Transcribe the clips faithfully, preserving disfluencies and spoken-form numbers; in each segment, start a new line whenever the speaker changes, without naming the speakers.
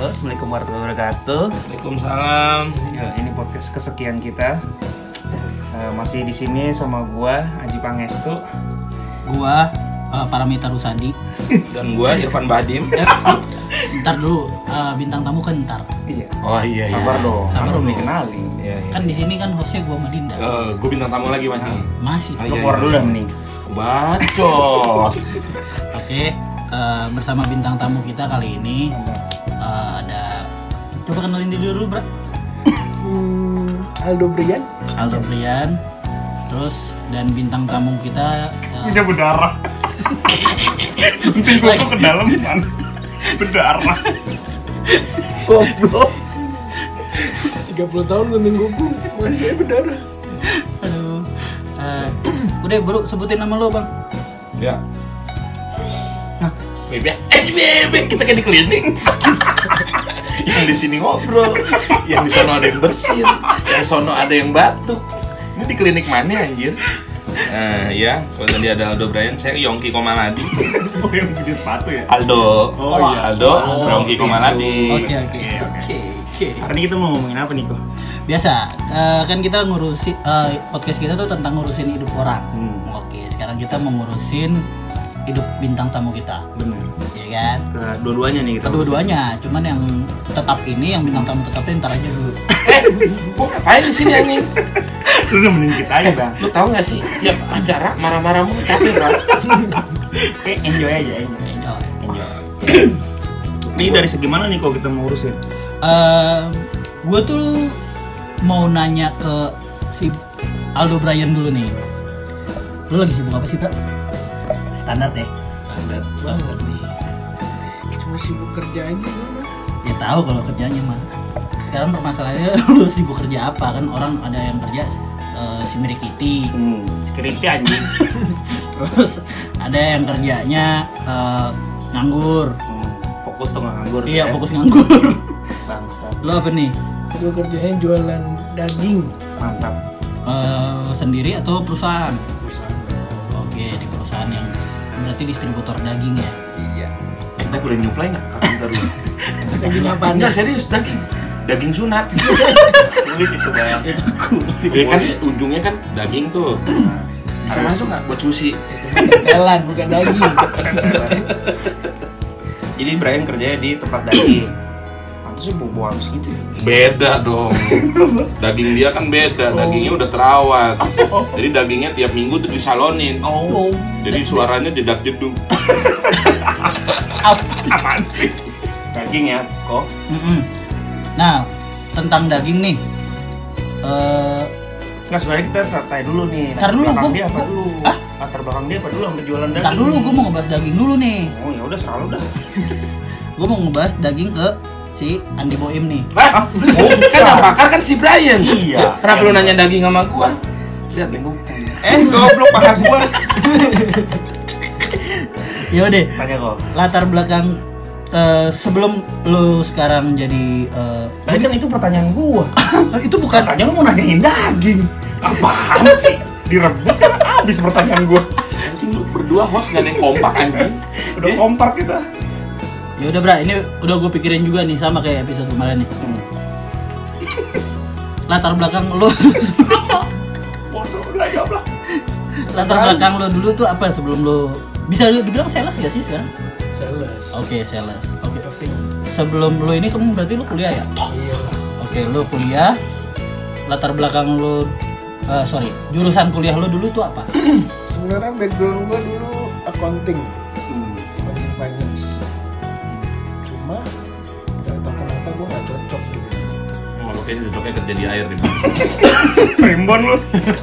Halo, Assalamualaikum warahmatullahi wabarakatuh.
Waalaikumsalam.
Ya, ini podcast kesekian kita. Uh, masih di sini sama gua Aji Pangestu,
gua uh, Paramita Rusadi,
dan gua Irfan Badim.
Ntar dulu, uh, bintang tamu kan ntar.
Iya.
Oh iya iya.
Sabar dong.
Sabar
belum
dong.
dikenalin.
Iya, iya.
Kan di sini kan hostnya gua sama Dinda.
Uh, gua bintang tamu lagi masih.
Masih.
Ah,
Lo
iya,
keluar
iya.
dulu dah mending.
Bacot.
Oke, uh, bersama bintang tamu kita kali ini uh, ada. Coba kenalin diri dulu, Bro.
Hmm, Aldo Brian.
Aldo Brian. Terus dan bintang tamu kita uh,
Punya berdarah. Suntik gua tuh ke dalam kan. Berdarah.
Goblok. tiga puluh tahun gunting kuku masih berdarah.
aduh. Uh, udah, Bro, sebutin nama lo, Bang.
Ya. Nah, bebe, eh bebe, kita kayak di klinik. Yang di sini ngobrol, yang di sono ada yang bersin, yang sono ada yang batuk. Ini di klinik mana anjir? Nah, ya, kalau dia ada Aldo Brian, saya Yongki Komaladi.
Oh, yang bikin sepatu ya?
Aldo.
Oh, iya.
Aldo,
Aldo,
Yongki Komaladi.
Oke, oke.
Oke, oke.
Oke, oke.
Hari ini kita mau ngomongin apa nih, kok?
Biasa, uh, kan kita ngurusin uh, podcast kita tuh tentang ngurusin hidup orang.
Hmm.
Oke, sekarang kita mau ngurusin hidup bintang tamu kita,
Bener.
ya kan?
Kedua-duanya nih kita.
Kedua-duanya, cuman yang tetap ini, yang bintang tamu tetapnya ntar aja dulu.
Eh, gua ngapain di sini anjing?
Lu nemenin kita aja, Bang.
Lu tahu nggak sih, tiap acara marah-marah mulu capek Bang.
Oke, enjoy aja, enjoy.
Enjoy.
Enjoy. Ini dari segi mana nih kok kita mau urusin?
Uh, gue tuh mau nanya ke si Aldo Brian dulu nih. Lu lagi sibuk apa sih, Pak? Standar deh.
Standar
Standar nih.
Cuma sibuk kerja aja gue mah.
Ya tahu kalau kerjanya mah. Sekarang permasalahannya lu sibuk kerja apa kan? Orang ada yang kerja uh, si Merikiti.
Hmm, security anjing.
Terus ada yang kerjanya uh, nganggur.
Hmm, fokus tuh nggak nganggur.
Iya,
ya?
fokus nganggur.
Bangsa.
Lu apa nih?
Gue kerjanya jualan daging.
Mantap.
Uh, sendiri atau perusahaan?
Perusahaan.
Oke, di perusahaan yang berarti distributor daging ya.
Iya.
Kita boleh nyuplai nggak? Kapan terus?
Daging apa nih?
Enggak serius, daging daging sunat.
Kulit itu bayang.
Itu kulit.
Ya kan ujungnya kan daging tuh. Bisa masuk nggak buat sushi?
Telan bukan daging.
Jadi Brian kerjanya di tempat daging. Pantasnya bau-bau habis gitu ya.
Beda dong. Daging dia kan beda, dagingnya udah terawat. Jadi dagingnya tiap minggu tuh disalonin.
Oh.
Jadi suaranya jedak jeduk.
Apaan sih? Daging ya, kok.
Mm-mm. Nah, tentang daging nih. Eh,
Nggak, sebenarnya kita tanya dulu nih.
Ntar dulu,
belakang
gua-
dia apa
gua-
dulu?
Hah?
Latar belakang dia apa dulu sampai jualan daging?
ntar dulu gue mau ngebahas daging dulu nih.
Oh ya udah selalu dah.
Gue mau ngebahas daging ke si Andi Boim nih.
Hah? Bukan yang bakar kan si Brian.
Iya.
Kenapa lu nanya daging sama gua?
Lihat nih gua. Eh, goblok paha gua.
Ya udah,
Tanya kok.
latar belakang eh, sebelum lu sekarang jadi eh,
Tadi kan itu pertanyaan gua.
itu bukan
Katanya lu mau nanyain daging. Apaan sih? Direbut kan habis pertanyaan gua.
Anjing lu berdua host gak ada yang kompak anjing.
Udah kompak kita.
Ya udah, Bra, ini udah gue pikirin juga nih sama kayak episode kemarin nih.
Hmm.
Latar belakang lu
Bodoh lah ya lah.
latar belakang lu dulu tuh apa sebelum lu bisa dibilang sales gak sih sekarang?
Sales.
Oke, sales. Oke.
Marketing.
Sebelum lu ini kamu berarti lu kuliah ya?
Iya lah.
Oke, lu kuliah. Latar belakang lu eh, sorry, jurusan kuliah lu dulu tuh apa?
Sebenarnya background gue dulu accounting,
Hmm.
accounting finance. Cuma nggak tahu kenapa gue nggak cocok gitu.
Oh, lu kayaknya cocoknya kerja di air nih.
Primbon lu.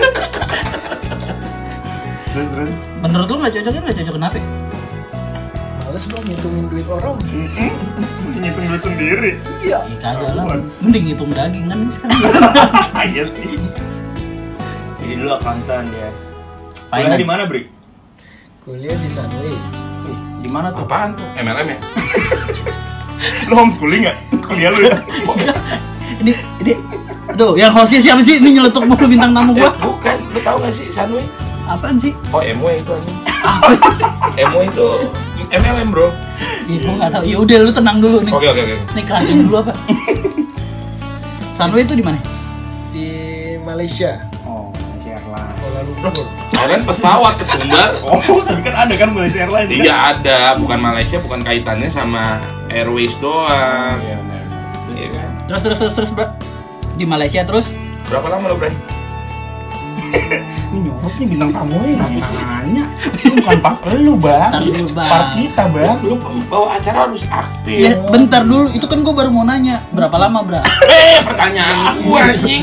Terus terus.
Menurut lu nggak cocoknya nggak cocok kenapa?
Males gue ngitungin duit orang.
Ngitung duit sendiri.
Iya.
Ih, kagak lah. Mending hitung daging kan sekarang.
Iya sih. Jadi dulu akuntan ya. Kuliah
Finance.
di mana, Bri?
Kuliah di Sunway.
Wih, di mana tuh?
Apaan tuh? M L M ya?
Lu homeschooling enggak? Kuliah lu ya?
ini ini aduh, yang hostnya siapa sih? Ini nyeletuk mulu bintang tamu
Eh,
gua.
bukan, lu tahu gak sih Sunway?
Apaan sih?
Oh, M W itu anjing. M W itu M L M bro.
Ya gua nggak tahu. Ya udah lu tenang dulu nih.
Oke oke oke.
Nih keranjang dulu apa? Sunway itu di mana?
Di Malaysia.
Oh, Malaysia Airlines.
Kuala Lumpur.
Kalian pesawat ketumbar.
Oh, tapi kan ada kan Malaysia Airlines.
Iya ada, bukan Malaysia, bukan kaitannya sama Airways doang.
Iya benar.
Iya kan?
Terus terus terus terus, Bro. Di Malaysia terus
Berapa lama lo, Bray?
Ini nyorot nih bintang tamu nih, nanya. Itu bukan part lu, Bang.
Ntar dulu, Bang.
Part kita, Bang.
Lu bawa acara harus aktif.
ya bentar dulu. Itu kan gua baru mau nanya. Berapa lama, Bro?
Eh, pertanyaan gua anjing.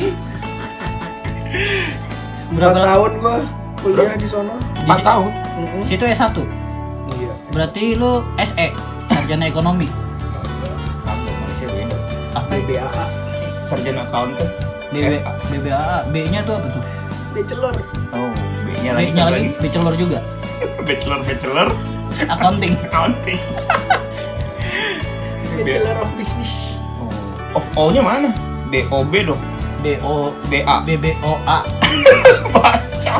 Berapa
Empat
lama?
tahun gua kuliah di sono.
empat tahun.
Mm-mm.
Situ S satu.
Iya.
Berarti lu S E, sarjana ekonomi.
Kagak, Malaysia beda.
Apa?
B B A A.
Sarjana accountant.
B B B B A A. B-nya tuh apa tuh?
Bachelor.
Oh, B-nya lagi.
B-nya lagi bachelor juga.
Bachelor, bachelor,
Accounting.
accounting.
Bachelor of Business.
Oh, of O-nya mana? B O B dong.
B O
B A.
B B O A.
Baca.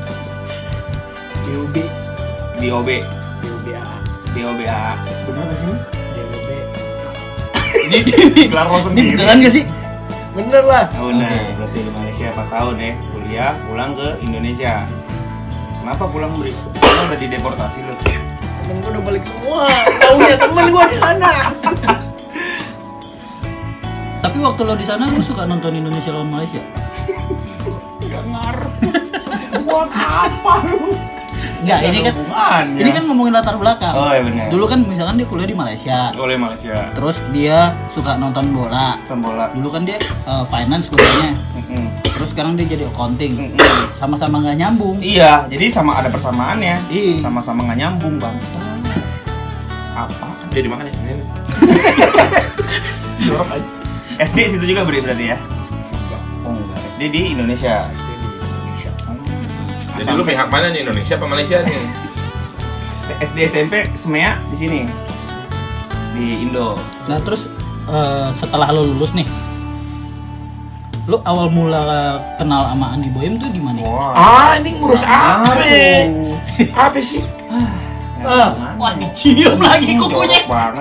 B U B.
B O B.
B U B A A.
B O B A. Benar nggak sih?
B U B.
Ini ini
Gelar lo
ini
sendiri.
beneran gak sih?
Bener lah.
Oh, nah,
Oke.
berarti di Malaysia empat tahun ya, kuliah, pulang ke Indonesia. Kenapa pulang, Bri? Lo udah dideportasi lo.
Temen gua udah balik semua. Taunya temen gua di sana.
Tapi waktu lo di sana lo suka nonton Indonesia lawan Malaysia?
Gak ngaruh. Buat apa lu?
Enggak, ini kan
hubungannya.
ini kan ngomongin latar belakang.
Oh, iya benar.
Dulu kan misalkan dia kuliah di Malaysia.
oleh Malaysia.
Terus dia suka nonton bola.
Nonton bola.
Dulu kan dia eh, finance kuliahnya.
Mm-mm.
Terus sekarang dia jadi accounting.
Mm-mm.
Sama-sama nggak nyambung.
Iya, jadi sama ada persamaannya.
Iya.
Sama-sama nggak nyambung, Bang. Apa?
Eh dimakan ya. Ini.
Jorok aja. S D situ juga beri berarti ya? Oh enggak, S D di Indonesia.
S D di Indonesia.
Jadi lu pihak mana nih, Indonesia apa Malaysia nih?
S D S M P Semea di sini. Di Indo.
Nah terus eh, setelah lo lulus nih, lo awal mula kenal sama Andi Boyem tuh di mana?
Ah, ini ngurus apa?
Aduh.
Apa sih?
Ah, wah dicium lagi kukunya.
Jorok banget.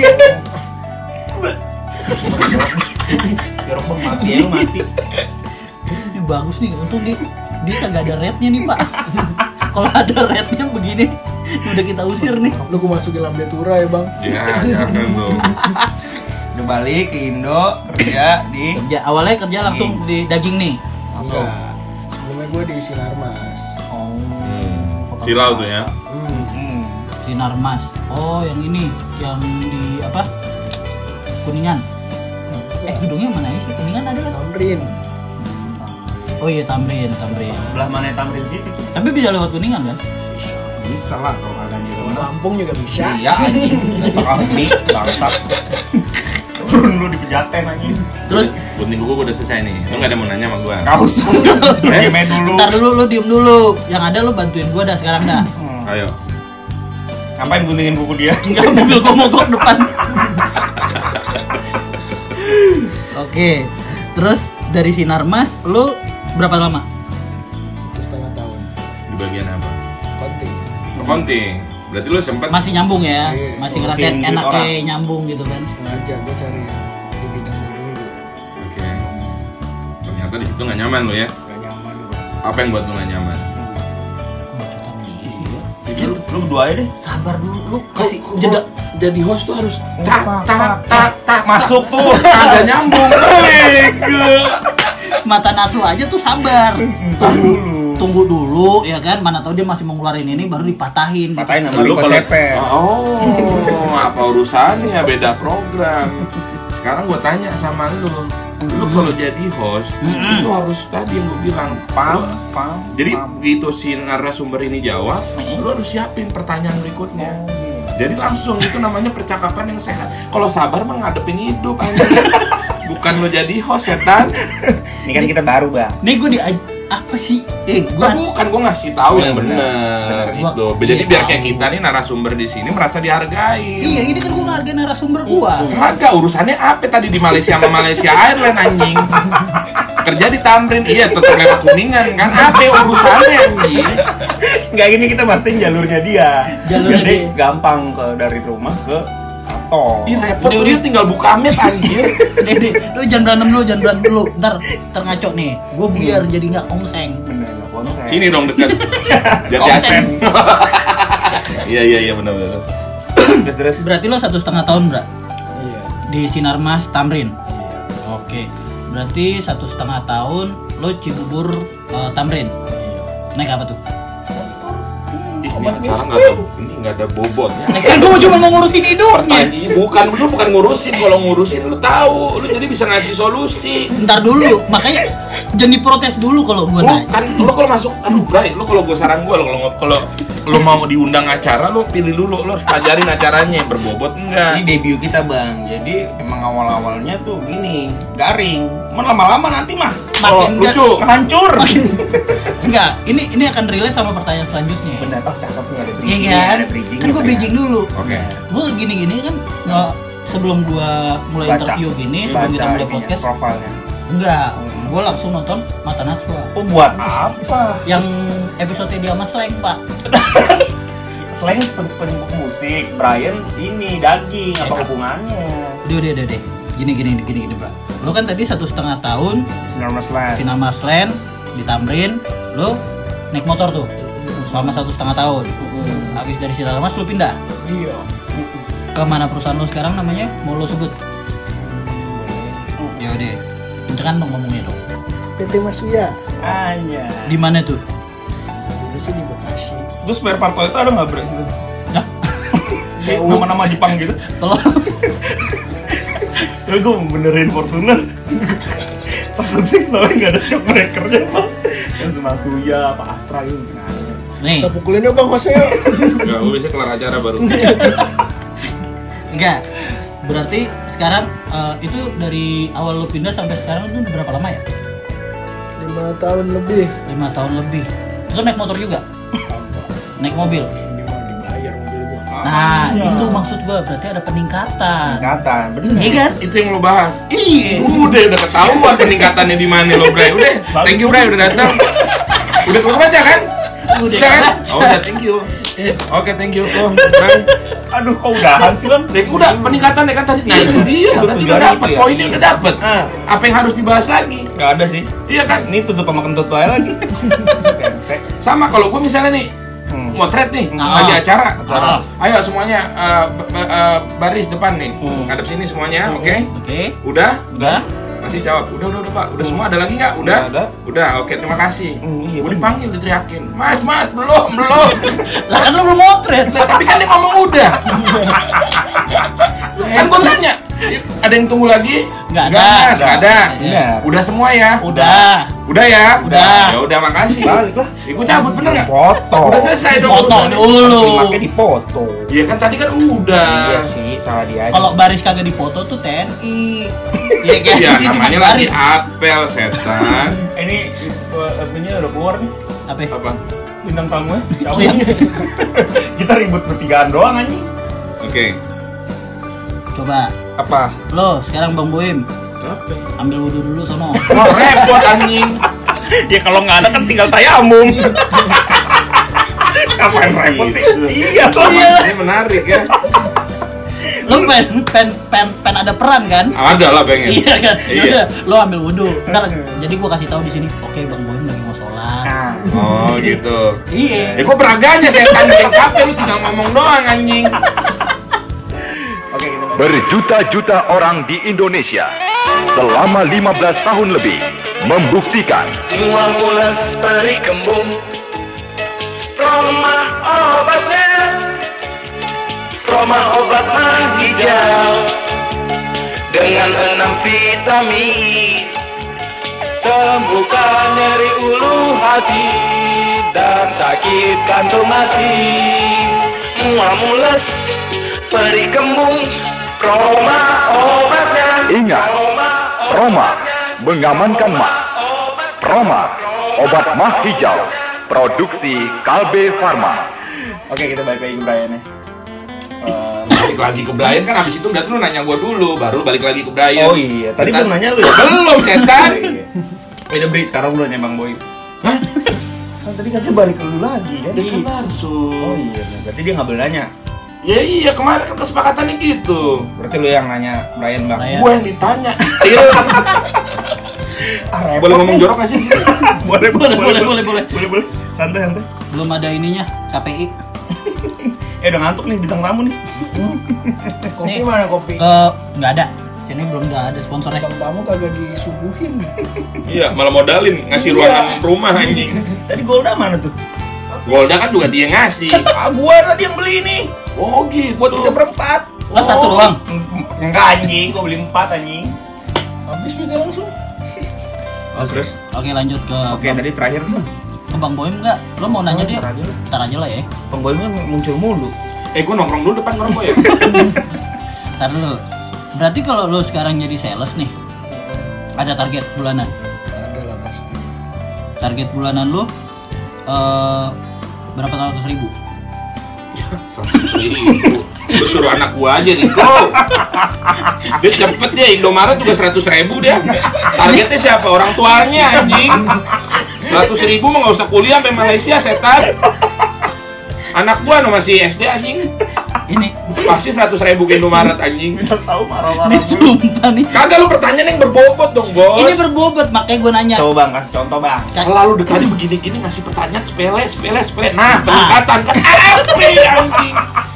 Jorok banget, mati ya lu mati.
Ini bagus nih, untung dia dia kagak ada rednya nih pak. Kalau ada rednya begini, udah kita usir nih.
Lu gua masukin Lambe Tura ya bang.
Ya, jangan dong.
Udah balik ke Indo kerja di
Kerja awalnya kerja langsung di daging nih.
langsung.
Enggak. Sebelumnya gua di Sinarmas.
Oh.
Hmm. Silau tuh ya.
Hmm.
Hmm.
Sinar Mas. Oh yang ini, yang di apa? Kuningan. Eh gedungnya mana ya sih? Kuningan ada kan?
Tamrin.
Oh iya Tamrin, Tamrin.
Sebelah mana Tamrin City tuh?
Tapi bisa lewat Kuningan kan?
Bisa lah kalau kagak di
Di
rumah.
Lampung juga bisa.
Iya anjing. Bakal mie bangsat. Turun lu di Pejaten anjing.
Terus
Gunting kuku gua udah selesai nih. Lu gak ada mau nanya sama gua?
Enggak usah. Diamin dulu.
ntar dulu lu diem dulu. Yang ada lu bantuin gua dah sekarang dah.
Hmm.
Ayo.
Ngapain guntingin buku dia?
Enggak mobil gua mogok depan. Oke. Terus dari Sinarmas lu berapa lama?
Satu setengah tahun.
Di bagian apa?
Konting.
Accounting. Berarti lu sempat
Masih nyambung ya?
Iya,
Masih
ngurusin
ngerasain
duit
enaknya
orang.
nyambung gitu kan?
Sengaja gua cari yang di bidang gua dulu.
Oke. Ternyata di situ nggak nyaman lu ya.
Gak nyaman gua.
Apa yang buat lu nggak nyaman?
Lu, lu berdua aja deh.
Sabar dulu lu
Kok-
kasih
kok-
jeda.
Jadi host tuh harus
Tak tak tak tak
Masuk tuh.
Kagak nyambung. Bego.
Mata nafsu aja tuh sabar.
Ntar dulu.
Tunggu dulu ya kan, mana tahu dia masih mau ngeluarin ini baru dipatahin.
Patahin sama
Lu
Riko
kalau
Cepet.
Oh, apa urusannya beda program. Sekarang gua tanya sama lu. Lu kalau jadi host,
Mm-mm.
itu harus tadi yang gua bilang,
Pam,
Lu-
pam.
Jadi
pam.
begitu si narasumber ini jawab,
Mm-mm.
lu harus siapin pertanyaan berikutnya.
Oh, iya.
Jadi langsung itu namanya percakapan yang sehat. Kalau sabar mah ngadepin hidup anjing. Bukan lo jadi host ya Tan.
Ini kan kita baru, Bang.
Nih gue di apa sih? Eh,
Gua
gua
bukan gua ngasih tahu yang
Bener,
benar
Gua-
itu. Jadi
iya,
biar kayak
tahu.
kita nih narasumber di sini merasa dihargai.
Iya, ini kan gua ngehargain narasumber gua.
Kagak urusannya apa tadi di Malaysia sama Malaysia Airlines anjing. kerja di Tamrin, iya tetap lewat Kuningan kan? Apa urusannya anjing?
Nggak, gini kita pastiin jalurnya dia.
Jalurnya
Jadi
dia.
gampang ke dari rumah ke kantor.
Ih repot,
Udah,
dia
udah.
tinggal buka map anjir.
Dede, lu jangan berantem dulu, jangan berantem dulu. Ntar, ntar ngaco nih. Gue biar jadi nggak kongseng.
Bener, nggak konsep.
Sini dong dekat. Jadi
Konsen.
asen. Iya iya iya benar benar.
Terus terus.
Berarti lo satu setengah tahun, Bra?
Iya.
Di Sinarmas Tamrin.
Iya.
Oke. Berarti satu setengah tahun lo Cibubur eh, Tamrin.
Iya.
Naik apa tuh?
Ih, ini acara nggak ada ini nggak ada bobotnya.
Naik kan gue cuma mau ngurusin hidupnya.
Pertanyaan bukan lu bukan ngurusin, kalau ngurusin lu tahu, lu jadi bisa ngasih solusi.
Ntar dulu, makanya jangan diprotes dulu kalau gue
Lu
nanya.
kan lu kalau masuk, aduh Bray, lu kalau gua saran gua lu kalau kalau lu mau diundang acara lu pilih dulu, lu harus pelajarin acaranya berbobot
Ini
enggak.
debut kita bang, jadi emang awal-awalnya tuh gini, garing. Cuman lama-lama nanti mah
Kalau
Makin
lucu,
hancur.
Enggak, ini ini akan relate sama pertanyaan selanjutnya.
Bener, oh cakep nih ada bridging.
Iya kan?
Ada bridging.
Kan gue bridging dulu.
Oke.
Gue gini-gini kan nggak sebelum gue mulai
Baca.
interview gini, sebelum kita mulai
ininya,
podcast,
profilnya.
enggak,
Hmm.
gue langsung nonton Mata Najwa.
Oh buat apa?
Yang episode dia sama Slang, Pak.
Selain pen- penyebut musik, Brian ini daging, apa hubungannya?
Udah, udah, udah, deh. Gini, gini, gini, gini, Pak. Lo kan tadi satu setengah tahun
Sinarmas Land.
Sinarmas Land di Tamrin, lo naik motor tuh selama satu setengah tahun. Habis dari Sinarmas lo pindah
Iya.
ke mana perusahaan lo sekarang namanya? Mau lo sebut? Ya udah, kencengan dong ngomongnya dong.
P T Masuya.
Anya.
Di mana tuh?
Dulu sih di Bekasi.
Terus spare part itu ada nggak bro situ?
Hah?
Kayak nama-nama Jepang gitu.
Kalau
Soalnya gue mau benerin Fortuner. Takut sih soalnya nggak ada shock breakernya bang. Yang Masuya, apa Astra itu nggak ada.
nih,
Kita pukulin yuk Bang Jose.
Enggak, gua bisa kelar acara baru.
enggak. Berarti sekarang eh, itu dari awal lo pindah sampai sekarang itu udah berapa lama ya?
lima tahun lebih.
Lima tahun lebih. Itu naik motor juga? Naik mobil?
Ini mah dibayar mobil gua.
Nah, itu maksud gua, berarti ada peningkatan.
Peningkatan, bener.
Iya kan?
Itu yang lo bahas.
Iya.
Udah udah ketahuan peningkatannya di mana lo, Bray. Udah, thank you Bray udah datang. Udah keluar aja kan?
Udah
kan?
kan?
Oh, udah thank you. Oke, thank you. Oh, Bray.
Aduh, kok udahan sih bang?
Dek, udah peningkatan ya kan tadi. Nah, itu dia.
Itu
Berarti udah
tujuannya
dapat
itu ya?
poinnya udah dapat.
Ah.
Apa yang harus dibahas lagi?
Nggak ada sih.
Iya kan?
Ini tutup sama kentut aja lagi. Brengsek.
Sama kalau gue misalnya nih
Hmm.
motret nih
Ah.
lagi acara.
Ah.
Ayo semuanya eh, b- b- eh, baris depan nih.
Hmm.
Ngadep sini semuanya, oke?
Oke.
Udah?
Udah.
Masih jawab. Udah, udah, udah, Pak. Udah
Hmm.
semua ada lagi nggak? Udah?
Udah ada.
Udah, oke, terima kasih.
Hmm, iya,
Gue
bener.
dipanggil, diteriakin. Mas, mas, belum, belum.
Lah kan lo belum motret.
Lah, tapi kan dia ngomong udah. Kan gue tanya, ada yang tunggu lagi?
Nggak ada.
Mas, nggak ada.
Bener.
Udah semua ya?
Udah.
Udah ya?
Udah.
Ya udah, makasih.
Balik lah.
Ibu cabut bener nggak?
Foto.
Udah selesai dong.
Foto
urusannya.
dulu.
Makanya dipoto.
Iya kan tadi kan udah.
Iya sih, salah dia aja.
Kalau baris kagak dipoto tuh T N I. Iya kan?
Iya,
Dia cuma
namanya lagi apel setan.
ini apanya udah keluar nih
Apa?
Apa?
bintang tamunya.
Oh iya.
Kita ribut bertigaan doang anjing.
Oke.
Coba
Apa?
lo sekarang Bang Boim
Apa?
ambil wudhu dulu sono.
Wah, repot anjing.
Ya kalau nggak ada kan tinggal tayamum. Ngapain repot sih? Iya tuh.
Ini menarik ya.
Lo pen pen pen pen ada peran kan?
Ada lah pengen.
Iya kan? Ya
Iya.
udah, lo ambil wudhu. Ntar jadi gua kasih tahu di sini. Oke, Bang Boim lagi mau sholat.
Nah,
Oh gitu.
Iya.
Ya kok beraganya setan bikin kafe lu tinggal ngomong doang anjing.
oke kita balik.
Berjuta-juta orang di Indonesia selama lima belas tahun lebih membuktikan
Mual mulas peri kembung Roma obatnya Roma obat mah hijau Dengan enam vitamin Sembuhkan nyeri ulu hati Dan sakit kantung hati Mual mulas peri kembung Roma obatnya
Ingat, Roma mengamankan mah. Roma, obat mah hijau, produksi Kalbe Farma.
Oke kita balik lagi ke Brian ya. Eh,
Balik lagi ke Brian kan abis itu berarti lu nanya gua dulu baru balik lagi ke Brian.
Oh iya, tadi
Bentar.
belum nanya lu ya?
Belum setan.
Iya. Eh udah beri sekarang udah Bang Boy.
Hah?
Kan tadi kan saya balik ke lu lagi kan.
Dia kan langsung.
Oh iya, berarti dia nggak boleh nanya.
Ya iya, kemarin kan kesepakatannya gitu.
Berarti lu yang nanya Brian Bang.
Brian.
Gue yang ditanya. Cil.
Ah, repot
Boleh ngomong
nih.
jorok gak sih?
boleh,
Boleh, boleh, boleh, boleh.
Boleh, boleh. Santai, santai.
Belum ada ininya, K P I.
Eh udah ngantuk nih bintang tamu nih.
Kopi
Nih.
mana kopi?
Ke nggak ada. Sini belum ada sponsornya.
Bintang tamu kagak disuguhin.
Iya, malah modalin ngasih ruangan rumah anjing.
Tadi Golda mana tuh?
Golda kan juga dia ngasih.
Ah, gua tadi yang beli nih.
Oh gitu.
Buat tiga perempat.
Lah satu doang.
Enggak anjing, gua beli empat anjing.
Habis duitnya langsung.
Oh, terus?
Oke lanjut ke
Oke,
Bang,
tadi terakhir tuh.
ke Bang Boim nggak? Lo mau nanya dia?
Ntar aja lu.
Ntar aja lah ya.
Penggoy kan muncul mulu.
Eh, gue nongkrong dulu depan ngerokok ya.
Ntar dulu. Berarti kalau lo sekarang jadi sales nih, ada target bulanan.
Ada lah pasti.
Target bulanan lo eh berapa ratus ribu?
Seratus ribu. Lu suruh anak gua aja Riko. Dia cepet dia, Indomaret juga seratus ribu dia. Targetnya siapa? Orang tuanya anjing. Seratus ribu mah gak usah kuliah sampai Malaysia setan. Anak gua no masih S D anjing.
Ini,
Pasti seratus ribu ke Indomaret anjing.
Kita tahu marah-marah.
ini sumpah nih.
Kagak, lu pertanyaan yang berbobot dong bos.
Ini berbobot, makanya gue nanya.
Coba Bang, kasih contoh Bang.
Kalau lu tadi begini-gini ngasih pertanyaan sepele, sepele, sepele. Nah, peningkatan kan apa anjing?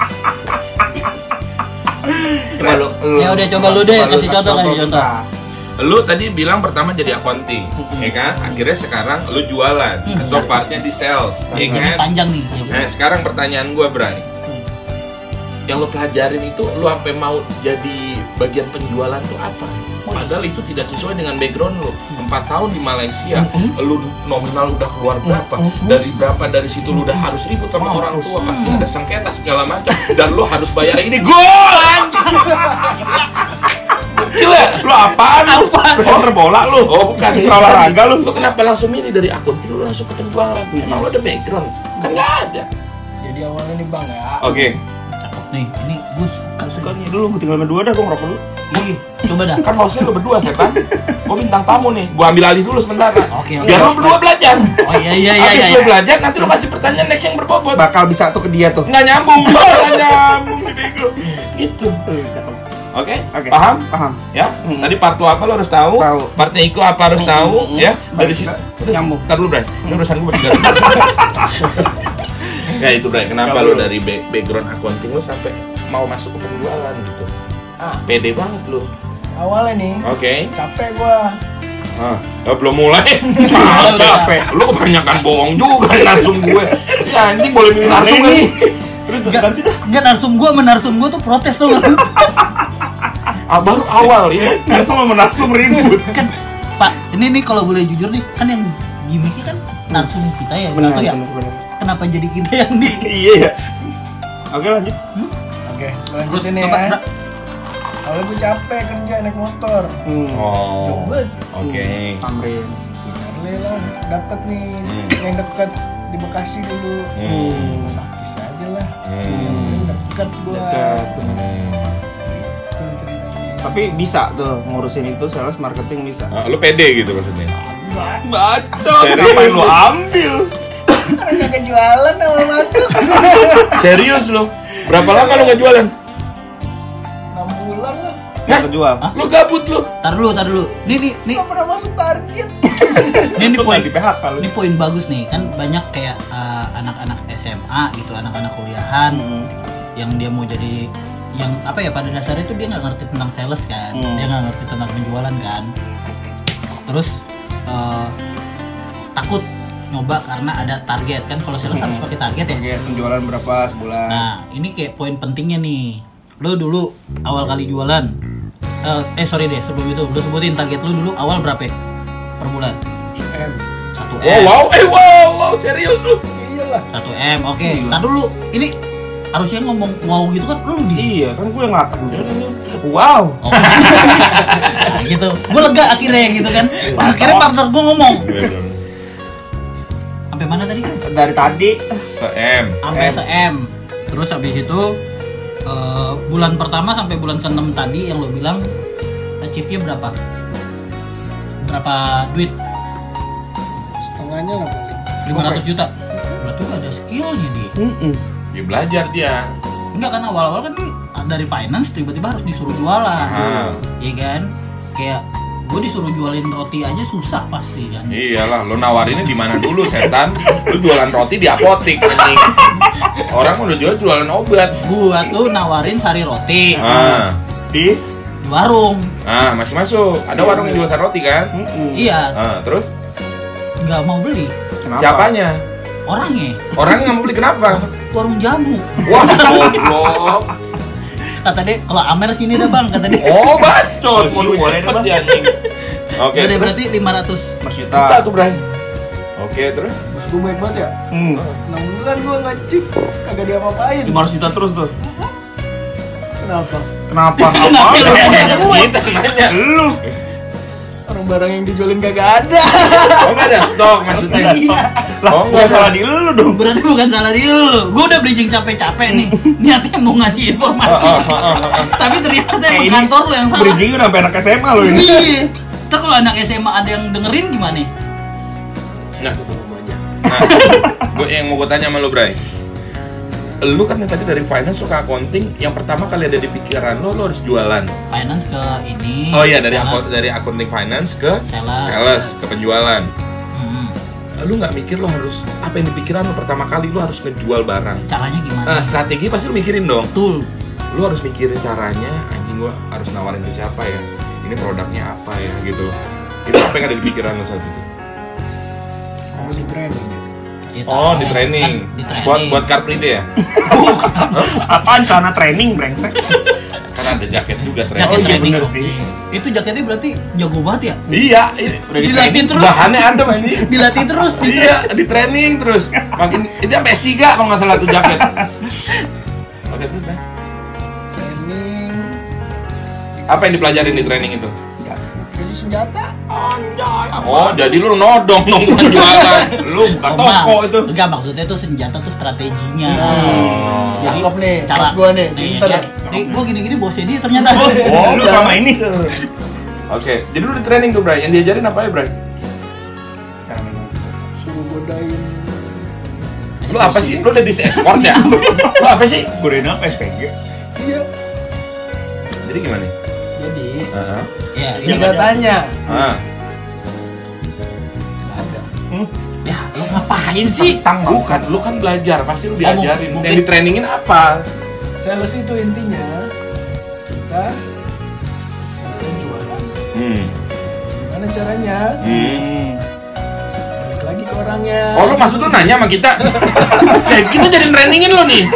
Coba lu, lu.
Ya udah, coba lu deh,
Coba
kasih contoh, kasih contoh.
kita.
Lu tadi bilang pertama jadi accounting, ya kan? Akhirnya sekarang lu jualan
Hmm,
atau
iya.
partnya di sales, ya
Ini
kan?
panjang nih.
Nah, sekarang pertanyaan gua, Bray. Yang lu pelajarin itu lu sampai mau jadi bagian penjualan tuh apa? Padahal itu tidak sesuai dengan background lu. Empat tahun di Malaysia, lu nominal udah keluar berapa? Dari berapa dari situ lu udah harus ribut sama orang tua, pasti ada sengketa segala macam, dan lu harus bayar ini gol anjing. Gila, lu apaan lu?
Presenter bola lu.
Oh bukan,
Mitra olahraga lu.
Lu kenapa langsung ini dari akunting lu langsung ke penjualan? Emang lu ada background? Kan nggak ada.
Jadi awalnya nih Bang ya.
Oke.
Cakep nih, ini gue suka
Suka nih dulu, gue tinggal berdua dah, gue ngerokok dulu.
Ih, coba dah.
Kan hostnya lu berdua setan. Gua bintang tamu nih. Gua ambil alih dulu sebentar.
Oke, oke.
Biar lu berdua belajar.
Oh iya iya iya
Habis
iya.
lu
iya.
belajar nanti lu kasih pertanyaan next yang berbobot.
Bakal bisa tuh ke dia tuh.
Nggak nyambung, nggak nyambung si bego. Gitu. Oke?
Oke.
Paham?
Paham.
Ya.
Hmm.
Tadi part lu apa lu harus tahu.
Tahu.
Partnya Iko apa harus tahu, ya. Dari situ
Nyambung.
Ntar dulu, Bray. Ini urusan gue bertiga. Ya itu, Bray. Kenapa
Nggak
lu
perlu.
dari back- background accounting lu sampai mau masuk ke penjualan gitu?
Ah,
Pede banget lu.
awalnya nih
Oke.
capek gua.
Ah, ya belum mulai. Capek. Lu kebanyakan bohong juga narsum gue. Ya anjing boleh milih narsum
Ini.
nih.
Enggak, enggak narsum gua, menarsum gua tuh protes tuh.
Ah, baru awal ya.
Langsung sama narsum ribut.
Kan Pak, ini nih kalau boleh jujur nih, kan yang gimmicknya kan narsum kita ya,
Benar,
atau ya?
benar, benar.
Kenapa jadi kita yang di
Iya ya. Oke lanjut.
Oke,
Terus
lanjutin nih
coba,
ya.
Bra.
Awalnya gua capek kerja naik motor.
Hmm.
Oh.
Coba
Oke.
Tamrin.
gua cari lah, dapet nih
Hmm.
yang dekat di Bekasi dulu.
Hmm.
Gua takis aja lah. Yang
Hmm.
penting dekat gua.
Dekat.
Hmm.
Itu ceritanya.
Tapi bisa tuh ngurusin itu sales marketing bisa.
Ah, lu pede gitu maksudnya.
Enggak,
Baca.
Serius
Ngapain
lu?
lu ambil?
karena kagak jualan awal masuk.
Serius lu? Berapa lama lu nggak jualan?
enam bulan lah.
Nggak kejual.
Hah?
Lu gabut lu.
Tar dulu, tar dulu. Nih nih nih,
Nggak pernah masuk target.
nih nih
Lu
poin.
nggak di P H K lu.
Ini poin bagus nih, kan banyak kayak uh, anak-anak S M A gitu, anak-anak kuliahan
Hmm.
yang dia mau jadi yang apa ya, pada dasarnya itu dia nggak ngerti tentang sales kan,
Hmm.
dia nggak ngerti tentang penjualan kan, terus uh, takut nyoba karena ada target kan, kalau sales harus pakai target ya.
Target penjualan berapa sebulan?
Nah ini kayak poin pentingnya nih, lo dulu awal kali jualan, uh, eh sorry deh sebelum itu lo sebutin target lo dulu awal berapa ya? Per bulan?
M.
Satu
Oh
M.
wow, eh wow, wow, serius lu.
Iyalah.
Satu M, oke. Nah dulu, ini harusnya ngomong wow gitu kan, lu di.
Iya, kan gue yang ngakak. Wow.
Oh. Nah, gitu. Gue lega akhirnya gitu kan. Akhirnya partner gue ngomong. Sampai mana tadi?
Dari tadi
Se-M.
Sampai se-M. Terus habis itu eh, bulan pertama sampai bulan keenam tadi yang lo bilang achieve-nya berapa? Berapa duit?
setengahnya nggak paling.
lima ratus juta. Berarti udah ada skillnya dia.
Mm-mm.
Dia belajar dia.
Enggak kan awal-awal kan dia dari finance tiba-tiba harus disuruh jualan.
Aha.
Iya kan? Kayak gue disuruh jualin roti aja susah pasti kan.
Iyalah, lo nawarinnya di mana dulu setan? Lo jualan roti di apotik anjing. Orang udah jual jualan obat.
Gua tuh nawarin sari roti
Ah.
Di
di warung.
Ah, masih masuk. Ada warung yang jual sari roti kan?
Mm-mm.
Iya,
Ah, terus
nggak mau beli.
Kenapa?
siapanya?
Orangnya
Orangnya nggak mau beli kenapa?
warung jamu.
Wah, goblok.
Kata dia, kalau Amer sini dah bang, kata dia.
Oh, bacot.
Oh,
Waduh,
boleh
cepet
deh,
dia anjing. Oke.
Udah
terus?
berarti lima ratus.
Mas
Kita
Yuta.
tuh, Bray. Oke, terus?
Bos gue baik banget ya.
Hmm.
enam bulan gue nggak cip, kagak diapa-apain.
lima ratus juta terus tuh.
Kenapa?
Kenapa? Apa?
Kita nanya.
Lu.
Orang barang yang dijualin kagak ada.
Oh, nggak ada stok maksudnya.
Lah,
Oh,
nggak
nggak
salah
ada.
di lu dong.
Berarti bukan salah dia lu. Gue udah bridging capek-capek nih. Niatnya mau ngasih informasi.
Ah, ah, ah, ah, ah.
Tapi ternyata
Eh,
emang
ini
kantor lu yang salah.
Bridging udah sampai anak S M A lu ini.
Iya. Ntar kalau anak S M A ada yang dengerin gimana?
Nah, nah, gue yang mau gue tanya sama lu, Bray. Lu kan yang tadi dari finance suka accounting, yang pertama kali ada di pikiran lu, lu harus jualan.
Finance ke ini.
Oh iya, dari
sales.
akun dari accounting finance ke
Sales.
sales, ke penjualan.
Hmm.
Lu nggak mikir lu harus apa yang dipikiran lu pertama kali lu harus ngejual barang.
Caranya gimana?
Nah, strategi pasti lu mikirin dong.
Betul.
Lu harus mikirin caranya, anjing gua harus nawarin ke siapa ya? Ini produknya apa ya gitu. Itu apa yang ada di pikiran lu saat itu?
Kalau di training.
Ya,
Oh,
tahu.
di training.
Kan di training.
Buat buat Car Free Day ya?
Apaan celana training brengsek?
Karena ada jaket juga
Jaket
training.
Oh, iya,
training.
bener sih.
Itu jaketnya berarti jago banget ya?
Iya, ini
Udah di
Dilatih
training.
terus.
bahannya ada anjing.
Dilatih terus di
Iya, di training terus. Makin ini sampai S tiga kalau nggak salah tuh jaket. Oke, tuh, Bang.
Training.
Apa yang dipelajarin di training itu?
Kasih senjata.
Oh, jadi lu nodong dong bukan jualan.
Lu buka
Oh,
toko
Bang.
itu.
Enggak, maksudnya itu senjata tuh strateginya.
Oh.
Cakep nih,
cara
bos gua nih,
nih,
pinter.
ya. Nih, gua gini-gini bosnya dia ternyata.
Oh,
Lu
udah.
sama ini.
Oke, jadi lu di training tuh, Bray. Yang diajarin apa ya, Bray?
Suruh godain.
Lu apa sih? Lu udah di export ya? Lu apa sih?
Godain apa S P G?
Iya.
Jadi gimana?
Jadi
Heeh.
Ya, ini
senjatanya
Ah.
nggak ada.
ya, lu ngapain sih?
Tang bang.
Bukan, lu kan belajar, pasti lu
Oh,
diajarin.
mungkin-
Yang di trainingin apa?
Sales itu intinya kita bisa jualan.
Hmm.
Gimana caranya?
Hmm.
Balik lagi ke orangnya.
Oh, lu maksud lu nanya sama kita? Kayak kita jadi trainingin lu nih.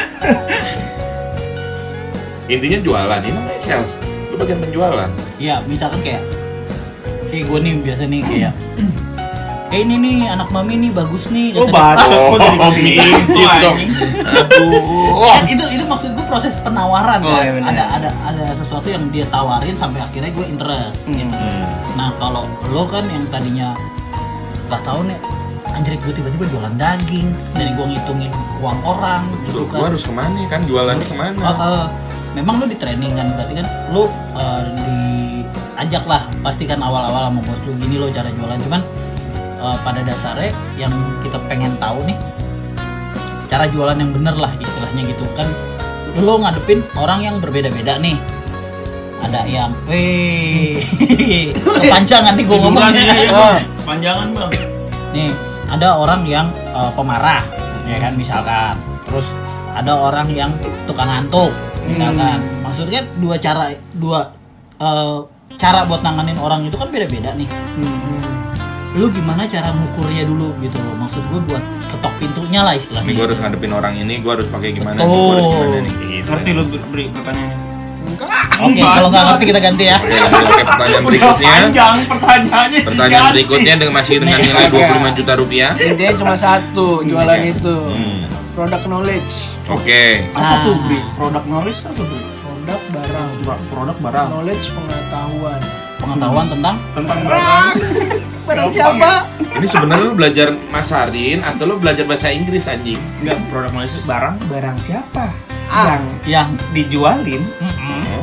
Intinya jualan, ini namanya sales. Lu bagian penjualan.
Ya, misalkan kayak kayak gue nih biasa nih kayak Eh ini nih anak mami nih bagus nih.
Lu
kata dia.
bacot kok jadi
Oh,
kesini.
mijit dong. Aduh.
Kan itu itu maksud gue proses penawaran
Oh,
kan.
iya bener.
ada ada ada sesuatu yang dia tawarin sampai akhirnya gue interest. Gitu.
Hmm.
Nah kalau lo kan yang tadinya nggak tahu nih, anjir gue tiba-tiba jualan daging dari gue ngitungin uang orang
Lu
gitu
gua
kan.
harus kemana kan? Jualannya
Terus,
kemana?
eh, eh, memang lo di training kan, berarti kan lo eh, diajak lah pasti kan awal-awal sama bos lo gini lo cara jualan, cuman eh, pada dasarnya yang kita pengen tahu nih cara jualan yang bener lah istilahnya gitu kan. Lo ngadepin orang yang berbeda-beda nih, ada yang weh kepanjangan nih gue
Hiburan
ngomongnya.
ya, ya, Bang. Panjangan bang.
Nih, ada orang yang uh, pemarah, ya kan misalkan. Terus ada orang yang tukang ngantuk, misalkan. Maksudnya dua cara dua uh, cara buat nanganin orang itu kan beda-beda nih. Lu gimana cara ngukurnya dulu gitu loh. Maksud gue buat ketok pintunya lah
Ini
istilahnya.
gua harus ngadepin orang ini, gua harus pakai gimana?
Betul.
Gua harus gimana nih? Gitu.
Ngerti lu beri pertanyaannya?
Enggak.
Oke, kalau nggak ngerti kita ganti ya.
Oke, lanjut ke pertanyaan
Udah
berikutnya.
panjang pertanyaannya.
Pertanyaan
diganti.
berikutnya dengan masih dengan nilai dua puluh lima juta rupiah.
Intinya cuma satu jualan itu.
Hmm.
Product knowledge.
Oke.
Apa tuh
Nah.
beri? Produk knowledge atau beri?
Produk barang.
Ba- Produk barang.
Knowledge pengetahuan.
Pengetahuan tentang
Tentang barang.
Barang siapa?
Ini sebenarnya lu belajar masarin atau lu belajar bahasa Inggris anjing?
Enggak, produk knowledge itu barang. Barang siapa?
Ah.
Yang
yang
dijualin,
Mm-mm.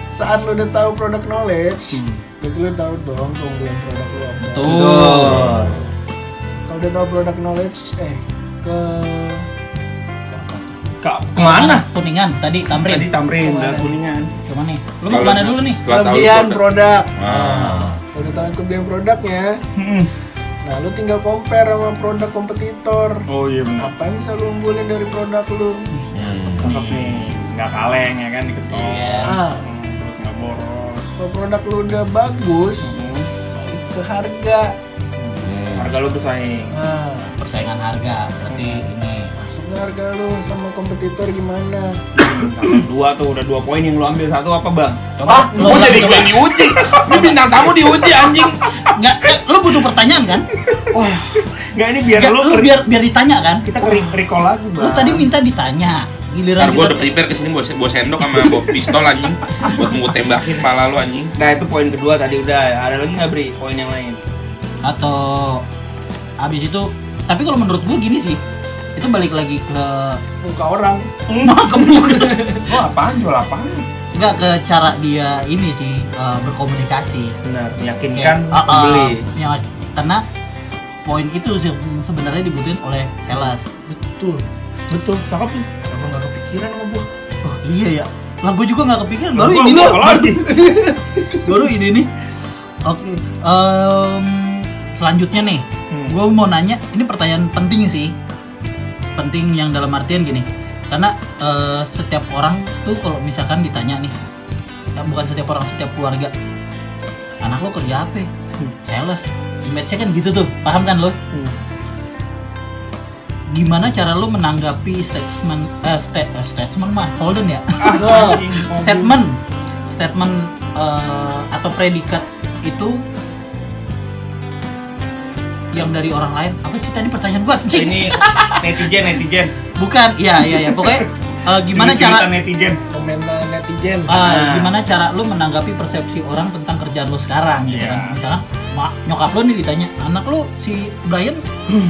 saat lu udah tahu product knowledge, berarti lu tahu dong keunggulan produk lu apa.
Tuh.
Kalau udah tahu product knowledge, eh ke ke apa tuh?
Ka- kemana?
Kuningan tadi Tamrin.
Tadi Tamrin,
Kemana?
udah Kuningan.
Kemana nih? Lu mau kemana dulu nih?
Setelah tahu
Kelebihan
produk.
produk.
Ah.
Kalau udah tahu kelebihan produknya,
Hmm.
nah lu tinggal compare sama produk kompetitor.
Oh iya benar.
Apa yang bisa lu unggulin dari produk lu?
Hmm.
Cakep nih, nggak kaleng ya kan diketok.
Iya.
Ah,
Hmm, terus nggak boros.
kalau produk lu udah bagus,
Hmm.
balik ke harga.
Hmm.
Harga lu bersaing.
Nah,
Persaingan harga berarti ini.
masuknya harga lu sama kompetitor gimana?
Cakep, dua tuh udah dua poin yang lu ambil, satu apa bang?
Coba lu
Gua
coba,
jadi
coba.
gue yang diuji. Ini bintang tamu diuji anjing.
Enggak, eh, lu butuh pertanyaan kan?
Nggak, ini biar
Nggak,
lu,
lu
re-
biar biar ditanya kan?
kita ke re- recall lagi bang.
Lu tadi minta ditanya. Giliran
Ntar gue
kita
udah prepare kesini bawa, bawa sendok sama bawa pistol anjing. Buat mau tembakin pala lu anjing.
Nah itu poin kedua tadi udah. Ada lagi nggak Bri poin yang lain?
atau habis itu, tapi kalau menurut gue gini sih, itu balik lagi ke
Muka orang.
ke muka.
Oh apaan jual apaan?
Enggak, ke cara dia ini sih, eh, berkomunikasi.
Benar, meyakinkan
Kayak, ah, ah,
pembeli.
yang- karena poin itu sih sebenarnya dibutuhin oleh sales.
Betul.
Betul, cakep nih. Kenapa nggak kepikiran sama gua?
Oh iya ya, lah gue juga nggak kepikiran. Baru
Gua-
ini
gua
loh,
apa lagi?
baru ini nih. Oke, em, selanjutnya nih,
Hmm.
gue mau nanya, ini pertanyaan penting sih, penting yang dalam artian gini, karena eh, setiap orang tuh kalau misalkan ditanya nih, ya bukan setiap orang, setiap keluarga, anak lo kerja apa?
Hmm.
Sales, image-nya kan gitu tuh, paham kan lo?
Hmm.
Gimana cara lo menanggapi statement, eh, sta- eh, statement mah, Holden ya?
Ah, anjing,
statement statement eh, atau predikat itu yang dari orang lain. Apa sih tadi pertanyaan gua? Cing?
Ini netizen netizen.
Bukan, iya iya ya, pokoknya eh, gimana cara
Cerita netizen?
Komentar netizen.
eh,
Nah.
gimana cara lu menanggapi persepsi orang tentang kerjaan lu sekarang gitu
Iya.
kan. Misalkan mak nyokap lu nih ditanya, anak lu si Brian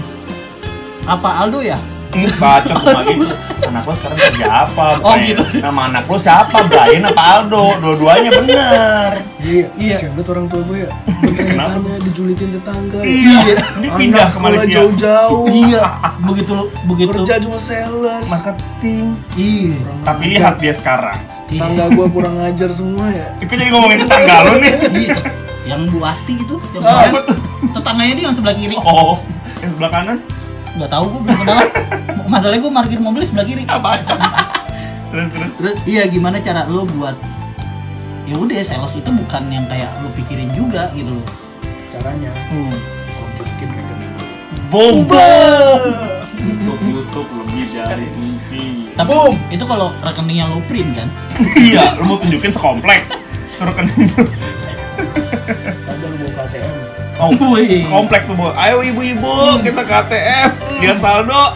apa Aldo ya?
Bacot cuma gitu. Anak lo sekarang kerja apa?
Oh,
Brian?
gitu.
Nama anak lo siapa? Brian apa Aldo? Dua-duanya bener.
Iya,
Iya.
kasihan banget orang tua gue ya.
Kenapa?
Bertanya, dijulitin tetangga.
Iya. Ini pindah
Anak
ke
sekolah
Malaysia.
jauh-jauh.
Iya, begitu lu begitu.
Kerja cuma sales.
Marketing.
Iya.
Kurang
Tapi
ajar.
lihat dia sekarang.
Tetangga gue kurang ngajar semua ya.
Itu jadi ngomongin tetangga lo nih.
Iya. Yang Bu Asti itu, yang
Ah,
kemarin,
betul.
tetangganya dia yang sebelah kiri.
Oh, yang sebelah kanan?
Nggak tahu, gue belum kenal. Masalahnya gue parkir mobil sebelah kiri.
Ah, bacot. Terus terus.
Terus iya, gimana cara lo buat, ya udah, sales itu bukan yang kayak lo pikirin juga gitu loh.
Caranya,
Hmm.
tunjukin rekening lu.
Bomba. YouTube YouTube lebih dari T V.
Tapi itu kalau rekeningnya lo print kan.
Iya, lu mau tunjukin sekomplek. Tuh rekening lu.
Kagak lu mau K T M.
Oh,
Wih.
sekomplek tuh, Bu. Ayo ibu-ibu, kita K T M. Lihat saldo.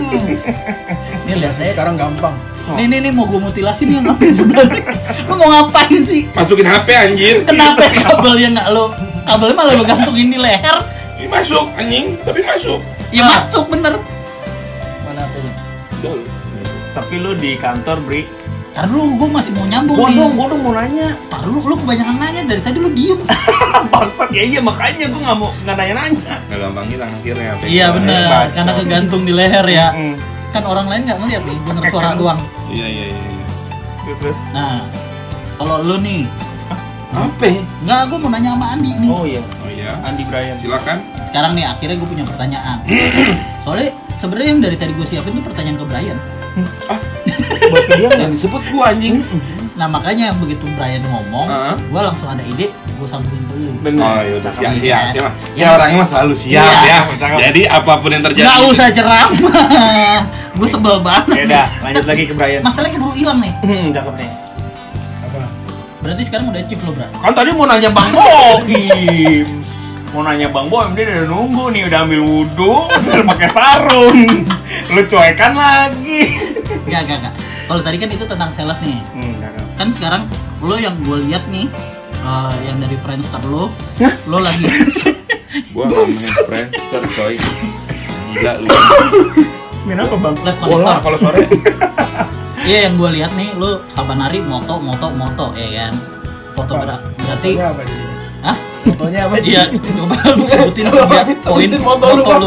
Nih lihat saya.
Sekarang gampang.
Nih nih nih mau gue mutilasi nih yang ngambil sebelah. Lo mau ngapain sih?
Masukin H P anjir.
Kenapa kabelnya nggak lo? Kabelnya malah lo gantungin di leher.
Ini masuk anjing, tapi masuk.
Ya masuk bener.
Mana apanya?
Tapi lu di kantor, Bri.
Karena dulu gue masih mau nyambung
Gua
nih.
dong, gua dong mau nanya.
Tar lu, lu kebanyakan nanya dari tadi lu diem.
Bangsat ya, iya makanya gua nggak mau nggak nanya-nanya.
Nggak gampang hilang akhirnya H P.
Iya bener,
bacot.
karena kegantung di leher ya.
Hmm.
Kan orang lain nggak ngeliat nih, bener suara doang.
Iya iya iya.
Terus terus.
Nah, kalau lu nih,
Apa?
nggak, gue mau nanya sama Andi nih.
Oh iya,
Oh iya.
Andi Brian.
Silakan.
Sekarang nih akhirnya gue punya pertanyaan. Soalnya sebenarnya yang dari tadi gue siapin tuh pertanyaan ke Brian.
Buat dia
Yang disebut gua anjing.
Nah makanya begitu Brian ngomong,
Heeh.
gue langsung ada ide, gue sambungin ke lu.
bener.
Oh iya udah
Cakep.
siap siap siap.
Ya.
Ya orangnya mah selalu siap
Iya.
ya.
Cakep.
Jadi apapun yang terjadi.
Nggak usah ceramah, gue sebel banget.
Ya udah, lanjut lagi ke Brian.
Masalahnya keburu hilang nih.
Hmm, cakep nih.
Apa?
Berarti sekarang udah achieve lo, Bra.
Kan tadi mau nanya Bang Boim. Mau nanya Bang Boim, dia udah nunggu nih, udah ambil wudhu, udah pakai sarung. Lu cuekan lagi.
Gak, gak, gak. Kalau tadi kan itu tentang sales nih.
Hmm, cakep.
Kan sekarang lo yang gue lihat nih, eh, yang dari Friendster lo, lo lagi.
Gua nggak main Friendster coy. Gila lu.
Main apa Bang?
Live
Bola
connector.
kalau sore.
Iya, yang gue lihat nih, lo saban hari moto, moto, moto, ya kan. fotografer. Berarti
Fotonya apa jadinya?
hah?
Fotonya apa?
Iya, coba lu sebutin
Coba
tiga
sebutin
poin
foto
foto
lu,
lu.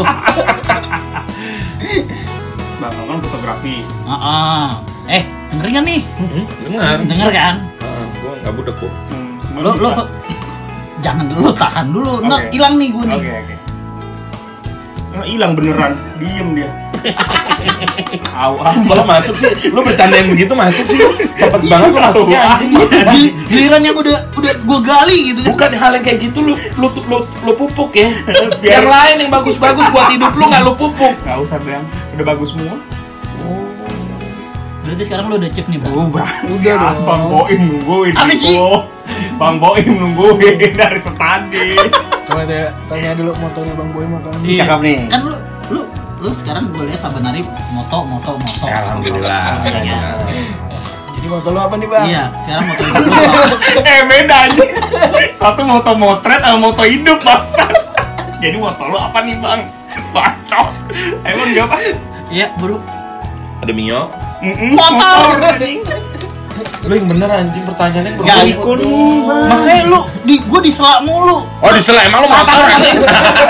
Bang, lo kan fotografi.
Heeh. Eh, denger nggak nih?
Hmm, dengar.
Denger kan?
Ah, gua enggak budak kok.
Hmm,
Lo lo fo- jangan dulu, tahan dulu. Ntar
Oke.
hilang nih gue nih.
Oke, oke. Oh, hilang beneran. Diem dia. Au, au.
Kalau masuk sih, lu bercandain begitu masuk sih. Cepet banget lu masuknya anjing.
Gili- Giliran yang udah udah gue gali gitu kan.
Bukan hal yang kayak gitu lu lu lu, lu pupuk ya.
Biar-
Yang lain yang bagus-bagus buat hidup lu enggak lu pupuk.
Nggak usah, Bang. Udah bagus semua.
Berarti sekarang lo udah chief nih, Bang.
Oh, Bang.
Udah
Siap,
dong.
Bang Boim nungguin.
Apa sih?
Oh, Bang Boim nungguin dari setadi.
Coba deh tanya dulu motonya Bang Boy mau kan.
Iya.
Cakep nih.
Kan lu lu lu sekarang gue lihat saban hari moto moto moto.
Alhamdulillah.
Iya.
Jadi moto lu apa nih Bang?
Iya, sekarang moto itu lu apa?
Eh, beda aja. Satu moto motret sama moto hidup, bangsat. Jadi moto lu apa nih, Bang? Bacot. Emang dia apa?
Iya, bro.
Ada Mio.
Mm-mm,
Motor.
anjing.
Lu yang bener anjing pertanyaannya yang
Gak
berbeda.
ikut nih, Bang.
Makanya lu di gue diselak mulu.
Oh, disela emang lu motor anjing.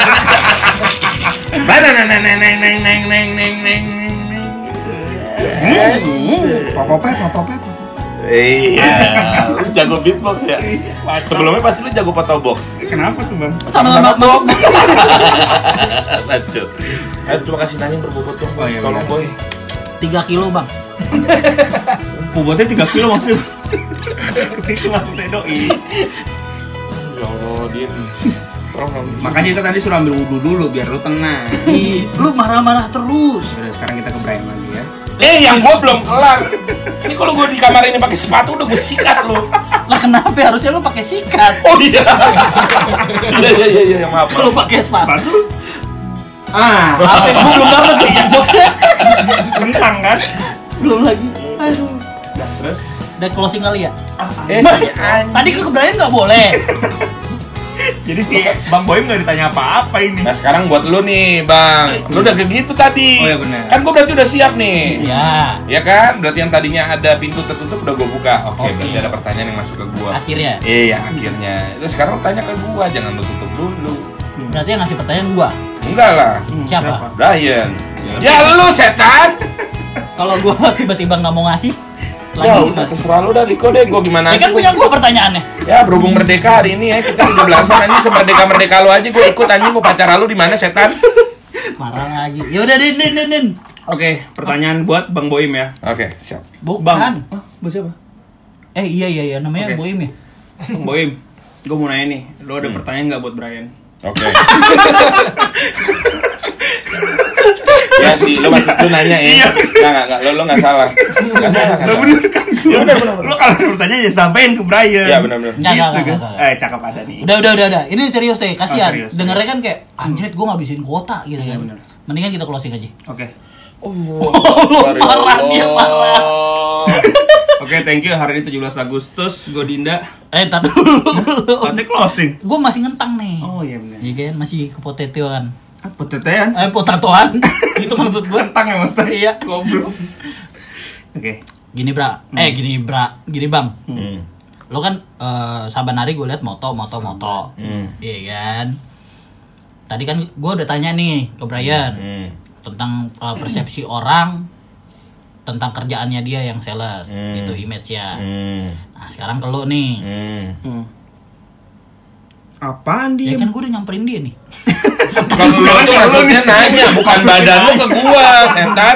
Mana neng neng neng neng neng neng neng neng.
Popopet, popopet.
Iya, lu jago beatbox ya. Sebelumnya pasti lu jago foto box.
Kenapa tuh, Bang?
Sama-sama masuk.
Lanjut. Ayo coba kasih nanya berbobot dong.
Oh, iya,
Tolong
bener.
boy.
tiga kilo, Bang.
Bobotnya tiga kilo maksud. Ke situ maksudnya doi.
Ya Allah, dia. Tolong dong.
Makanya kita tadi suruh ambil wudhu dulu biar lu tenang.
Ih, lu marah-marah terus.
Udah, sekarang kita ke Brian lagi ya.
Eh, yang gua belum kelar. Ini kalau gua di kamar ini pakai sepatu udah gua sikat lu.
Lah kenapa harusnya lu pakai sikat?
Oh iya. Iya iya iya iya maaf.
Lu pakai sepatu.
Apaan tuh? Ah,
Apa gua belum dapet tuh boxnya.
kentang kan?
Belum lagi. Aduh.
Nah, terus?
Udah closing kali ya?
Eh,
Tadi ke Brian nggak boleh.
Jadi si Bang Boim nggak ditanya apa-apa ini.
nah sekarang buat lu nih, Bang. Lu udah kayak gitu tadi.
Oh, iya benar.
Kan gua berarti udah siap nih.
Ya,
Ya kan? Berarti yang tadinya ada pintu tertutup udah gua buka. Oke,
Oke.
berarti ada pertanyaan yang masuk ke gua.
akhirnya.
Iya, akhirnya. Terus sekarang lu tanya ke gua, jangan lu tutup dulu.
Berarti yang ngasih pertanyaan gua.
Enggak lah.
Hmm,
Siapa?
Brian. Ya lu setan.
Kalau gua tiba-tiba nggak mau ngasih,
Ya
lagi
udah
gimana?
terserah lu dah Riko deh, gua gimana
Ya kan punya gua pertanyaannya.
Ya berhubung merdeka hari ini ya, kita tujuh belasan anjing semerdeka-merdeka lu aja gua ikut anjing mau pacar lu di mana setan?
Marah lagi. Ya udah, Din, Din, Din, Din.
Oke, pertanyaan buat Bang Boim ya.
Oke, siap.
Bukan.
Bang. Hah, buat siapa?
Eh iya iya iya namanya
Oke.
Boim ya.
Bang Boim, gue mau nanya nih, lo ada pertanyaan nggak buat Brian?
Oke. Ya sih, lu masih lu nanya ya. Enggak enggak enggak, lu lu enggak salah. Enggak salah. nggak
Lo
salah.
bener kan?
Iya, bener, bener, bener.
Lo kalau ada pertanyaan ya sampein ke Brian.
Iya, bener, bener.
Enggak,
Gitu
enggak,
kan?
enggak, enggak.
Eh, cakep ada nih.
Udah udah udah udah. Ini serius deh, kasihan.
Oh, serius,
Dengernya
serius.
kan kayak anjir gua ngabisin kuota gitu
Iya,
kan.
bener.
Mendingan kita closing aja.
Oke.
Oh,
lu marah, dia marah.
Oke, thank you. Hari ini tujuh belas Agustus, gue Dinda.
Eh, entar dulu.
Nanti closing.
Gua masih ngentang nih.
Oh iya benar.
Iya kan masih kepotetean.
Apa tetean?
Eh, potatoan. Itu maksud gua.
Kentang ya mas?
Iya.
Goblok. Oke.
Gini, Bra. Eh, gini, Bra. Gini, Bang.
Hmm.
Lo kan eh, saban hari gue liat moto moto moto.
Hmm.
Iya kan? Tadi kan gue udah tanya nih ke Brian
Hmm.
tentang uh, persepsi orang tentang kerjaannya dia yang sales,
Hmm.
gitu image-nya.
Hmm.
Nah, sekarang ke lo nih.
Hmm.
Hmm. Apaan
Ya
dia?
kan gue udah nyamperin dia nih.
Kalau lu tuh maksudnya nanya, bukan badan lu ke gua, setan.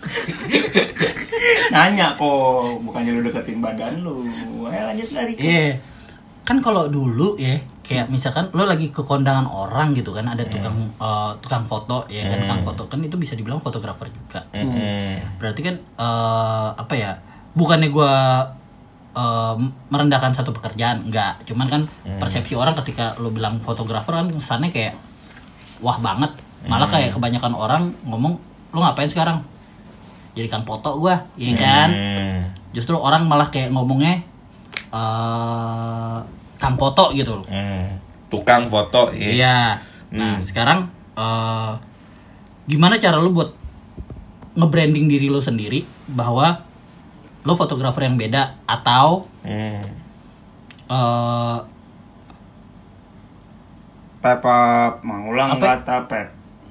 Nanya kok, bukannya lu deketin badan lu. Ayo lanjut dari.
Iya. Kan kalau dulu ya, kayak misalkan lo lagi ke kondangan orang gitu kan, ada tukang uh, tukang foto ya kan, tukang foto kan itu bisa dibilang fotografer juga.
Hmm.
Berarti kan uh, apa ya? Bukannya gue uh, merendahkan satu pekerjaan, enggak. Cuman kan persepsi orang ketika lo bilang fotografer kan kesannya kayak wah banget. Malah kayak kebanyakan orang ngomong lo ngapain sekarang? Jadikan foto gue, iya kan?
Hmm.
Justru orang malah kayak ngomongnya uh, kang foto gitu loh.
Hmm. Tukang foto, iya.
Iya. Nah,
Hmm.
sekarang uh, gimana cara lu buat nge-branding diri lu sendiri bahwa lu fotografer yang beda atau
Hmm.
Eh,
Pepap, mengulang
Apa?
kata pep.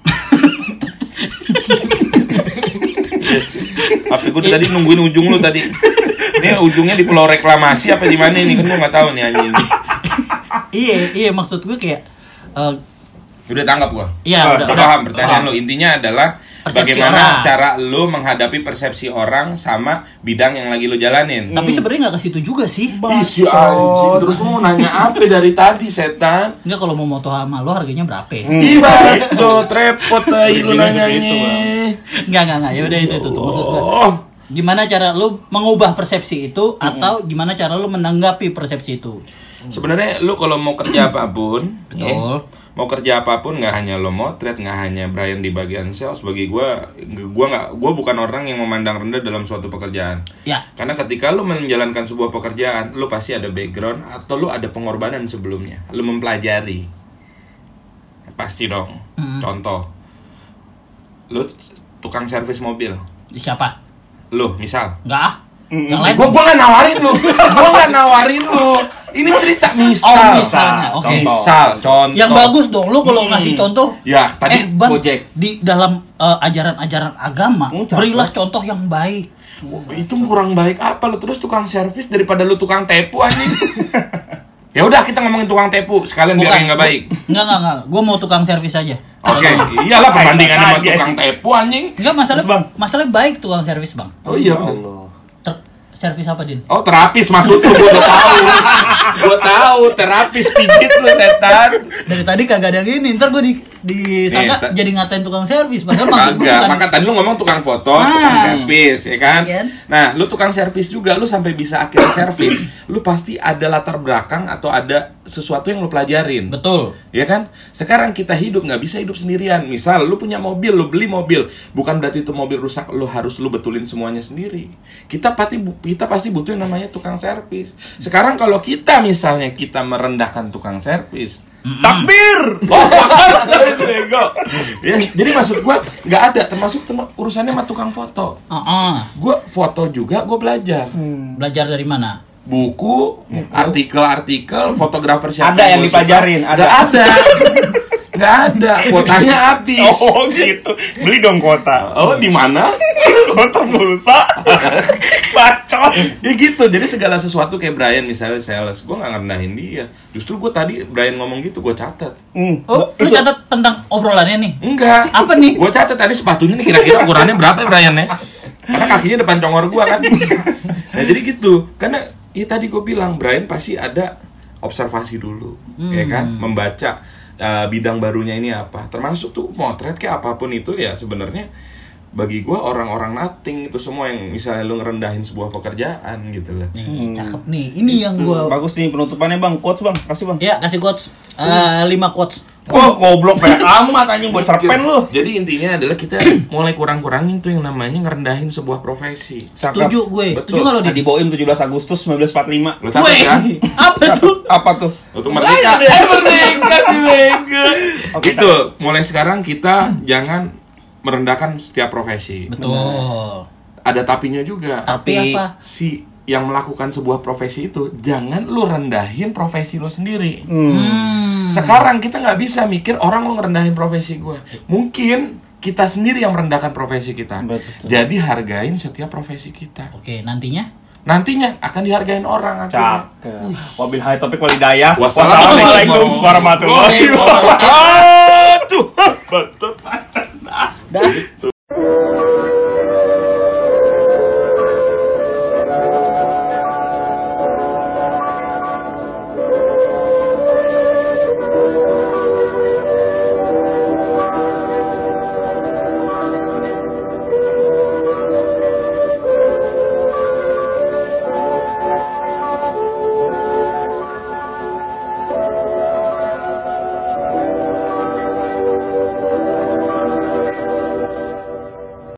Tapi gue tadi nungguin ujung lu tadi. Ini ujungnya di pulau reklamasi apa di mana ini kan gue nggak tahu nih anjing.
iya, iya maksud gue kayak eh,
Udah tangkap gua.
iya
Oh,
udah,
Coba
udah.
paham pertanyaan lu. Intinya adalah
Persepsi
bagaimana
orang.
cara lu menghadapi persepsi orang sama bidang yang lagi lu jalanin.
Tapi sebenarnya nggak ke situ juga sih.
Ih, si anjing. Terus lu mau nanya apa dari tadi, setan?
Enggak, kalau mau moto sama lo harganya berapa?
Ih, bacot, repot tai lu
Ujungnya ke situ,
nanyanya.
Bang.
Enggak, enggak, enggak. Ya udah itu tuh, tuh maksud gue.
Oh.
Gimana cara lu mengubah persepsi itu atau gimana cara lu menanggapi persepsi itu?
Sebenarnya lu kalau mau kerja apapun,
Betul.
ya, mau kerja apapun nggak hanya lo motret, nggak hanya Brian di bagian sales. Bagi gua, gua nggak, gua bukan orang yang memandang rendah dalam suatu pekerjaan.
Ya.
Karena ketika lu menjalankan sebuah pekerjaan, lu pasti ada background atau lu ada pengorbanan sebelumnya. Lu mempelajari, pasti dong.
Hmm.
Contoh, lu tukang servis mobil,
Siapa?
lu misal.
Enggak ah. Yang lain.
Gua gua nggak nawarin lu, gua nggak nawarin lu. Ini cerita misal.
Oh, misalnya. Oke.
Misal, contoh.
Yang bagus dong lu kalau ngasih contoh.
Ya, tadi
eh, Bang,
Gojek.
di dalam eh, ajaran-ajaran agama,
Hmm, cakep.
berilah contoh yang baik.
itu kurang baik apa lu terus tukang servis daripada lu tukang tepu anjing. Ya udah kita ngomongin tukang tepu sekalian biar yang nggak baik.
Enggak, enggak, enggak. Gua mau tukang servis aja.
Oke, iyalah perbandingan sama
Aja.
tukang tepu anjing.
Enggak, masalah
Terus, Bang?
masalah baik tukang servis, Bang.
Oh iya.
Allah.
Ter- servis apa, Din?
Oh terapis maksud lu, gua udah tahu. Gua tahu terapis pijit lu setan.
Dari tadi kagak ada yang ini, ntar gue di disangka
Eh, ta-
jadi ngatain tukang servis, padahal maksud gue
Kagak,
bukan.
maka tadi lu ngomong tukang foto,
Ah.
tukang servis, ya kan?
Iya kan?
Nah, lu tukang servis juga, lu sampai bisa akhirnya servis, lu pasti ada latar belakang atau ada sesuatu yang lu pelajarin.
Betul.
Ya kan? Sekarang kita hidup nggak bisa hidup sendirian. Misal lu punya mobil, lu beli mobil, bukan berarti itu mobil rusak lu harus lu betulin semuanya sendiri. Kita pasti kita pasti butuh yang namanya tukang servis. Sekarang kalau kita misalnya kita merendahkan tukang servis,
Takbir.
bego. Ya, jadi maksud gua nggak ada termasuk terma- urusannya sama tukang foto.
Heeh.
Gua foto juga, gua belajar.
Belajar dari mana?
Buku, artikel-artikel, fotografer siapa
Ada yang
gua
dipelajarin,
suka.
ada.
Nggak ada. Nggak ada, kuotanya habis.
Oh gitu. Beli dong kuota.
Oh, di mana?
Kuota pulsa. Bacot.
Ya gitu, jadi segala sesuatu kayak Brian misalnya sales, gue gak ngerendahin dia. Justru gue tadi Brian ngomong gitu, gue catat.
Hmm.
Oh, lu catat tentang obrolannya nih.
Enggak.
Apa nih?
Gue catat tadi sepatunya nih kira-kira ukurannya berapa ya Brian ya? Karena kakinya depan congor gue kan. Nah jadi gitu, karena ya tadi gue bilang Brian pasti ada observasi dulu, ya kan, membaca uh, bidang barunya ini apa. Termasuk tuh motret kayak apapun itu ya sebenarnya. Bagi gue orang-orang nothing itu semua yang misalnya lu ngerendahin sebuah pekerjaan gitu lah.
Nih, cakep nih. Ini yang gua
Bagus nih penutupannya bang. Quotes bang. Kasih bang.
ya kasih quotes. Eh, lima quotes.
Oh goblok kayak amat anjing buat cerpen lu.
Jadi intinya adalah kita mulai kurang-kurangin tuh yang namanya ngerendahin sebuah profesi.
Setuju gue. Setuju enggak lo,
Di
Din?
Boim tujuh belas Agustus seribu sembilan ratus empat puluh lima.
Lo catat kan?
Apa tuh?
Apa tuh?
Untuk merdeka. Merdeka si mega. Gitu. Mulai sekarang kita jangan merendahkan setiap profesi.
Betul.
Ada tapinya juga.
Tapi apa?
Si yang melakukan sebuah profesi itu jangan lu rendahin profesi lu sendiri.
Hmm.
Sekarang kita nggak bisa mikir orang lu ngerendahin profesi gue. Mungkin kita sendiri yang merendahkan profesi kita.
Betul.
Jadi hargain setiap profesi kita.
Oke, nantinya
Nantinya akan dihargain orang akhirnya.
Cakep. Wabil hai topik walidayah.
Wassalamualaikum
Wassalamualaikum warahmatullahi
warahmatullahi
wabarakatuh.
wabarakatuh. Betul.